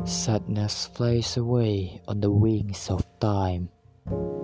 Sadness flies away on the wings of time.